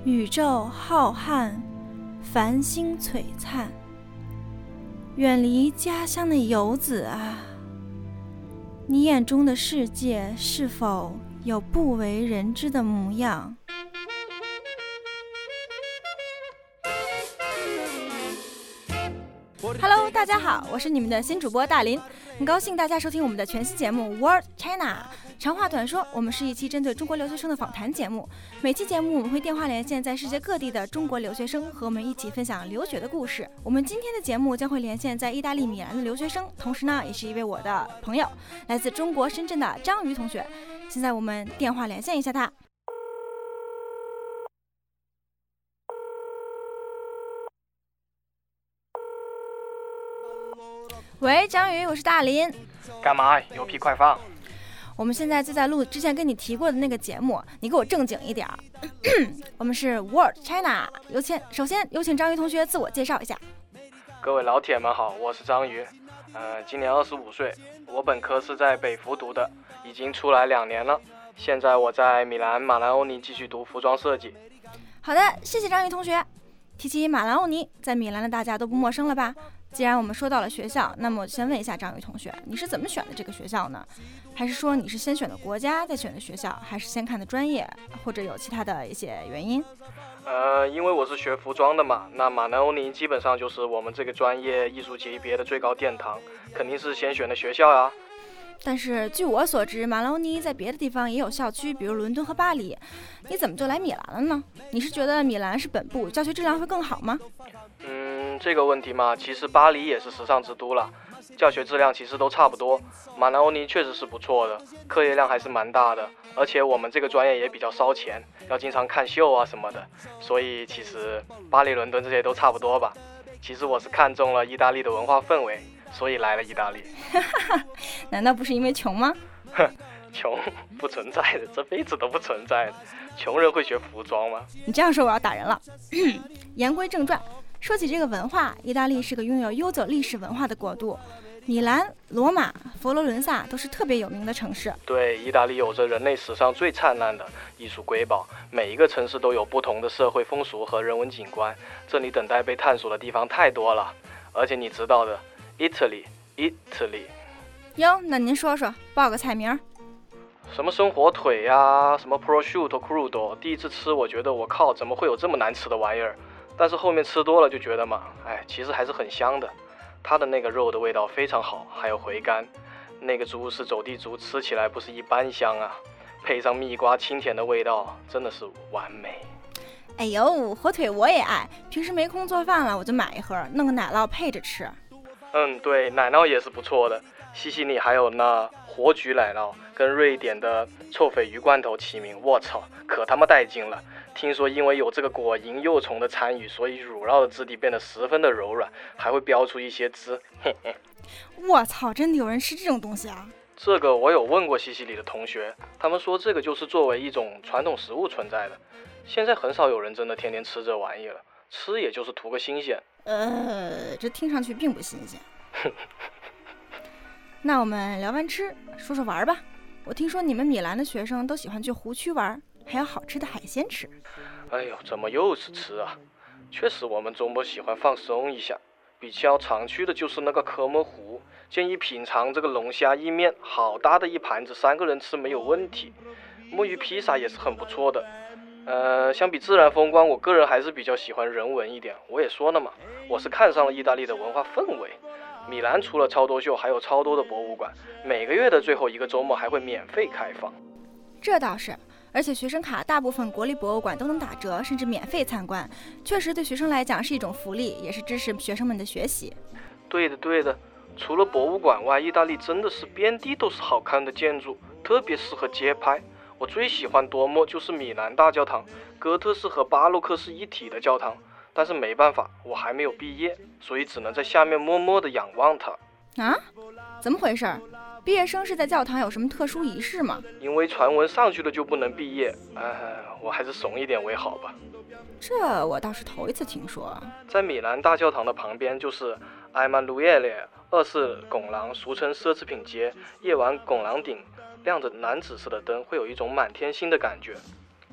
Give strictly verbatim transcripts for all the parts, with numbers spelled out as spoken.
宇宙浩瀚，繁星璀璨。远离家乡的游子啊，你眼中的世界是否有不为人知的模样？Hello， 大家好，我是你们的新主播大林，很高兴大家收听我们的全新节目 World China。长话短说，我们是一期针对中国留学生的访谈节目。每期节目我们会电话连线在世界各地的中国留学生，和我们一起分享留学的故事。我们今天的节目将会连线在意大利米兰的留学生，同时呢，也是一位我的朋友，来自中国深圳的张瑜同学。现在我们电话连线一下他。喂，张瑜，我是大林。 干嘛？有屁快放！ 我们现在就在录之前跟你提过的那个节目，你给我正经一点。我们是 World China， 有请，首先有请张瑜同学自我介绍一下。 各位老铁们好，我是张瑜，呃，今年二十五岁，我本科是在北服读的，已经出来两年了，现在我在米兰马兰欧尼继续读服装设计。 好的，谢谢张瑜同学。提起马兰欧尼，在米兰的大家都不陌生了吧？既然我们说到了学校，那么我先问一下张瑜同学，你是怎么选的这个学校呢？还是说你是先选的国家再选的学校，还是先看的专业，或者有其他的一些原因？ 呃，因为我是学服装的嘛，那马兰欧尼基本上就是我们这个专业艺术级别的最高殿堂，肯定是先选的学校啊。 但是据我所知，马兰欧尼在别的地方也有校区，比如伦敦和巴黎，你怎么就来米兰了呢？你是觉得米兰是本部，教学质量会更好吗？ 嗯，这个问题嘛，其实巴黎也是时尚之都了，教学质量其实都差不多。马兰欧尼确实是不错的，课业量还是蛮大的，而且我们这个专业也比较烧钱，要经常看秀啊什么的，所以其实巴黎、伦敦这些都差不多吧。其实我是看中了意大利的文化氛围，所以来了意大利。 难道不是因为穷吗？ 哼，穷不存在的，这辈子都不存在的。穷人会学服装吗？ 你这样说我要打人了。言归正传，说起这个文化，意大利是个拥有悠久历史文化的国度。米兰、罗马、佛罗伦萨都是特别有名的城市。 对，意大利有着人类史上最灿烂的艺术瑰宝，每一个城市都有不同的社会风俗和人文景观，这里等待被探索的地方太多了。而且你知道的 Italy Italy 哟，那您说说，报个菜名。 什么生火腿呀、啊，什么 prosciutto crudo， 第一次吃我觉得我靠，怎么会有这么难吃的玩意儿？但是后面吃多了就觉得嘛，哎，其实还是很香的。它的那个肉的味道非常好，还有回甘，那个猪是走地猪，吃起来不是一般香啊，配上蜜瓜清甜的味道，真的是完美。 哎呦，火腿我也爱，平时没空做饭了我就买一盒，弄个奶酪配着吃。 嗯，对，奶酪也是不错的，西西里还有那火炬奶酪，跟瑞典的臭鲱鱼罐头齐名，我操，可他妈带劲了！听说因为有这个果蝇幼虫的参与，所以乳酪的质地变得十分的柔软，还会飙出一些汁。嘿嘿， 我操，真的有人吃这种东西啊？ 这个我有问过西西里的同学，他们说这个就是作为一种传统食物存在的。现在很少有人真的天天吃这玩意了，吃也就是图个新鲜。 呃，这听上去并不新鲜。那我们聊完吃，说说玩吧。我听说你们米兰的学生都喜欢去湖区玩，还有好吃的海鲜吃。 哎呦，怎么又是吃啊？确实，我们周末喜欢放松一下，比较常去的就是那个科莫湖，建议品尝这个龙虾意面，好大的一盘子，三个人吃没有问题。墨鱼披萨也是很不错的。呃，相比自然风光，我个人还是比较喜欢人文一点。我也说了嘛，我是看上了意大利的文化氛围。米兰除了超多秀，还有超多的博物馆，每个月的最后一个周末还会免费开放。 这倒是，而且学生卡大部分国立博物馆都能打折，甚至免费参观，确实对学生来讲是一种福利，也是支持学生们的学习。 对的对的，除了博物馆外，意大利真的是遍地都是好看的建筑，特别适合街拍。我最喜欢多莫就是米兰大教堂，哥特式和巴洛克是一体的教堂，但是没办法，我还没有毕业，所以只能在下面默默地仰望它。 啊？怎么回事？毕业生是在教堂有什么特殊仪式吗？ 因为传闻上去了就不能毕业，哎，我还是怂一点为好吧。 这我倒是头一次听说。 在米兰大教堂的旁边就是埃曼努耶列二世拱廊，俗称奢侈品街。夜晚拱廊顶亮着蓝紫色的灯，会有一种满天星的感觉。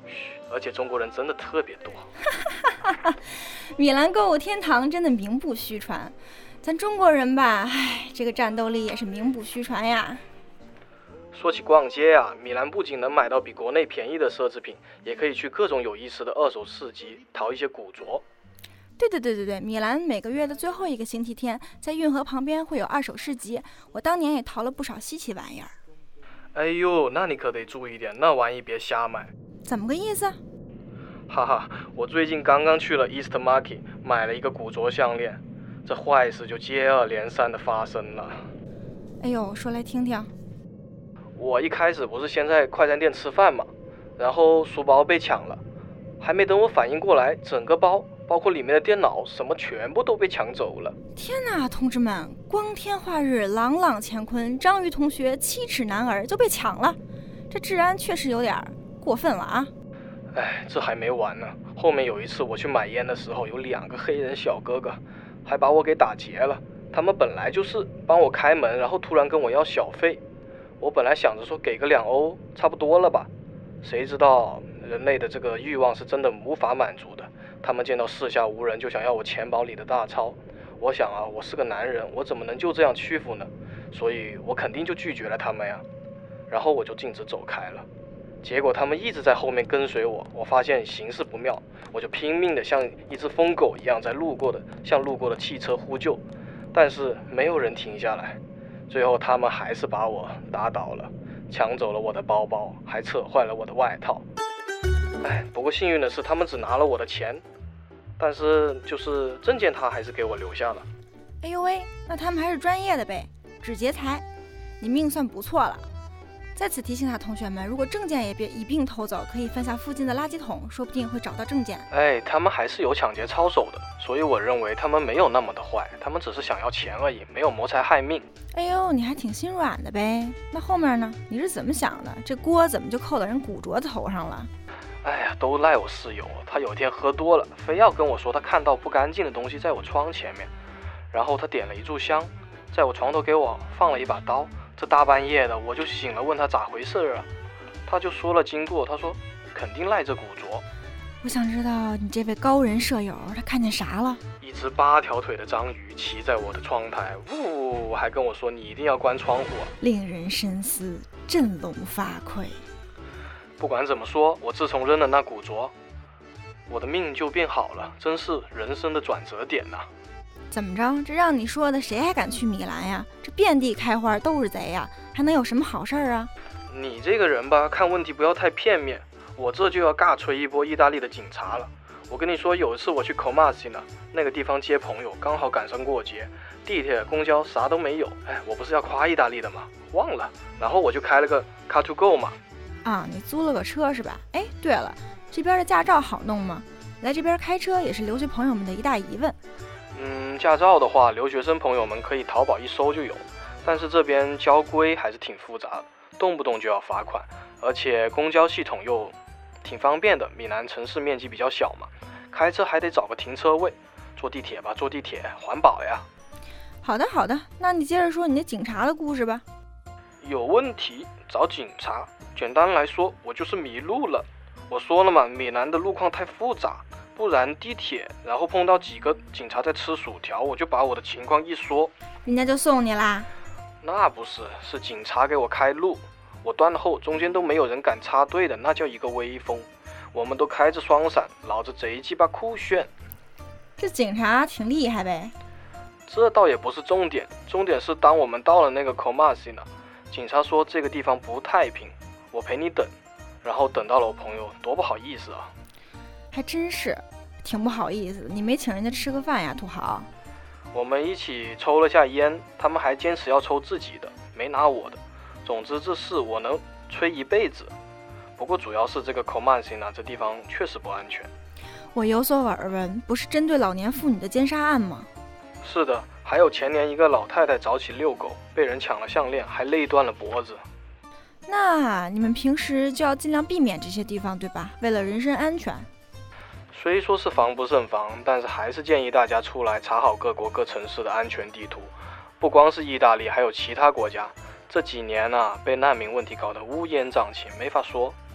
嘘，而且中国人真的特别多。 米兰购物天堂真的名不虚传，咱中国人吧，唉，这个战斗力也是名不虚传呀。 说起逛街啊，米兰不仅能买到比国内便宜的奢侈品，也可以去各种有意思的二手市集淘一些古着。 对对对对对，米兰每个月的最后一个星期天，在运河旁边会有二手市集，我当年也淘了不少稀奇玩意儿。 哎呦，那你可得注意点，那玩意别瞎买。 怎么个意思？ 哈哈，我最近刚刚去了 East Market 买了一个古着项链，这坏事就接二连三的发生了。 哎呦，说来听听。 我一开始不是先在快餐店吃饭嘛，然后书包被抢了，还没等我反应过来，整个包包括里面的电脑什么全部都被抢走了。 天哪，同志们，光天化日，朗朗乾坤，章鱼同学七尺男儿就被抢了，这治安确实有点过分了啊。 哎，这还没完呢，后面有一次我去买烟的时候，有两个黑人小哥哥还把我给打劫了。他们本来就是帮我开门，然后突然跟我要小费，我本来想着说给个两欧差不多了吧，谁知道人类的这个欲望是真的无法满足的。他们见到四下无人就想要我钱包里的大钞，我想啊，我是个男人，我怎么能就这样屈服呢？所以我肯定就拒绝了他们呀，然后我就径直走开了。结果他们一直在后面跟随我，我发现形势不妙，我就拼命的像一只疯狗一样在路过的向路过的汽车呼救，但是没有人停下来。最后他们还是把我打倒了，抢走了我的包包，还扯坏了我的外套。哎，不过幸运的是他们只拿了我的钱，但是就是证件他还是给我留下了。 哎呦喂，那他们还是专业的呗，只劫财，你命算不错了。在此提醒下同学们，如果证件也别一并偷走，可以翻下附近的垃圾桶，说不定会找到证件。 哎，他们还是有抢劫操守的，所以我认为他们没有那么的坏，他们只是想要钱而已，没有谋财害命。 哎呦，你还挺心软的呗。那后面呢？你是怎么想的？这锅怎么就扣到人古着头上了？ 哎呀，都赖我室友，他有天喝多了，非要跟我说他看到不干净的东西在我窗前面，然后他点了一炷香，在我床头给我放了一把刀。这大半夜的我就醒了，问他咋回事啊，他就说了经过，他说肯定赖这古着。 我想知道你这位高人舍友他看见啥了？ 一只八条腿的章鱼骑在我的窗台，呜，还跟我说你一定要关窗户啊， 令人深思，振聋发聩。 不管怎么说，我自从扔了那古着，我的命就变好了，真是人生的转折点呐、啊。 怎么着？这让你说的，谁还敢去米兰呀？这遍地开花都是贼呀，还能有什么好事儿啊？ 你这个人吧，看问题不要太片面。我这就要尬吹一波意大利的警察了。我跟你说，有一次我去 Comasina 那个地方接朋友，刚好赶上过节，地铁、公交啥都没有。哎，我不是要夸意大利的吗？忘了。然后我就开了个 Car to Go 嘛。 啊，你租了个车是吧？哎，对了，这边的驾照好弄吗？来这边开车也是留学朋友们的一大疑问。 嗯，驾照的话，留学生朋友们可以淘宝一搜就有，但是这边交规还是挺复杂的，动不动就要罚款，而且公交系统又挺方便的。米兰城市面积比较小嘛，开车还得找个停车位，坐地铁吧，坐地铁环保呀。 好的好的，那你接着说你那警察的故事吧。 有问题找警察，简单来说，我就是迷路了。我说了嘛，米兰的路况太复杂。不然地铁，然后碰到几个警察在吃薯条，我就把我的情况一说， 人家就送你啦？ 那不是，是警察给我开路，我断后，中间都没有人敢插队的，那叫一个威风。我们都开着双闪，老子贼鸡巴酷炫。 这警察挺厉害呗？ 这倒也不是重点，重点是当我们到了那个 Comasina， 警察说这个地方不太平，我陪你等，然后等到了我朋友，多不好意思啊。 还真是，挺不好意思，你没请人家吃个饭呀，土豪。 我们一起抽了下烟，他们还坚持要抽自己的，没拿我的。总之这事我能吹一辈子。不过主要是这个 Comasina 这地方确实不安全。 我有所耳闻，不是针对老年妇女的奸杀案吗？ 是的，还有前年一个老太太早起遛狗，被人抢了项链，还勒断了脖子。 那你们平时就要尽量避免这些地方，对吧？为了人身安全。 虽说是防不胜防，但是还是建议大家出来查好各国各城市的安全地图。不光是意大利，还有其他国家，这几年啊，被难民问题搞得乌烟瘴气，没法说。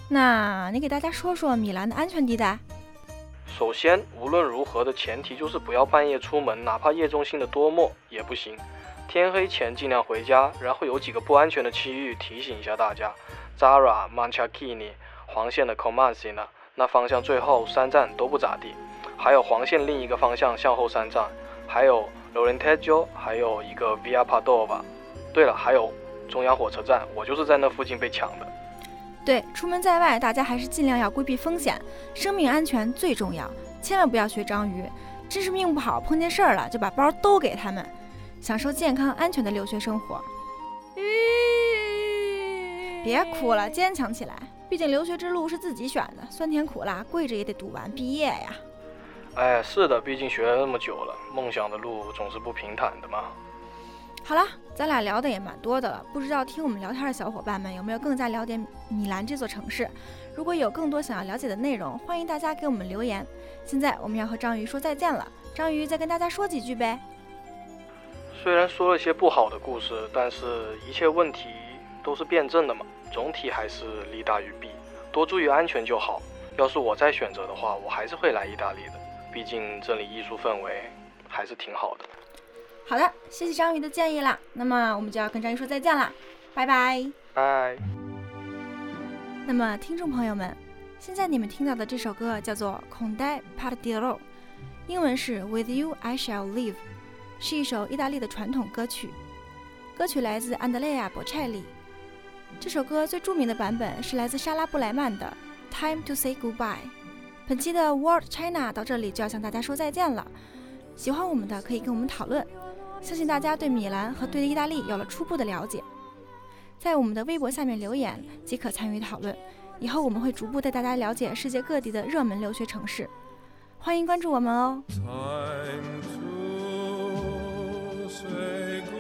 那你给大家说说米兰的安全地带？ 首先，无论如何的前提就是不要半夜出门，哪怕夜中心的多么也不行。天黑前尽量回家，然后有几个不安全的区域提醒一下大家 ：Zara、Manchakini、黄线的 Comasina， 那方向最后三站都不咋地。还有黄线另一个方向向后三站，还有 Lorenteggio， 还有一个 Via Padova。对了，还有中央火车站，我就是在那附近被抢的。 对，出门在外，大家还是尽量要规避风险，生命安全最重要，千万不要学章鱼，真是命不好碰见事儿了就把包都给他们，享受健康安全的留学生活。别哭了，坚强起来，毕竟留学之路是自己选的，酸甜苦辣，跪着也得读完毕业呀。 哎，是的，毕竟学了那么久了，梦想的路总是不平坦的嘛。 好了，咱俩聊的也蛮多的了，不知道听我们聊天的小伙伴们有没有更加了解米兰这座城市？如果有更多想要了解的内容，欢迎大家给我们留言。现在我们要和章鱼说再见了，章鱼再跟大家说几句呗。 虽然说了些不好的故事，但是一切问题都是辩证的嘛，总体还是利大于弊，多注意安全就好。要是我再选择的话，我还是会来意大利的，毕竟这里艺术氛围还是挺好的。 好的，谢谢章鱼的建议啦，那么我们就要跟章鱼说再见啦，拜拜拜。 那么听众朋友们，现在你们听到的这首歌叫做 Con te partirò， 英文是 With you I shall live， 是一首意大利的传统歌曲，歌曲来自安德烈亚·博切利。这首歌最著名的版本是来自莎拉·布莱曼的 Time to say goodbye。 本期的 World China 到这里就要向大家说再见了，喜欢我们的可以跟我们讨论，相信大家对米兰和对意大利有了初步的了解，在我们的微博下面留言即可参与讨论，以后我们会逐步带大家了解世界各地的热门留学城市，欢迎关注我们哦。Time to say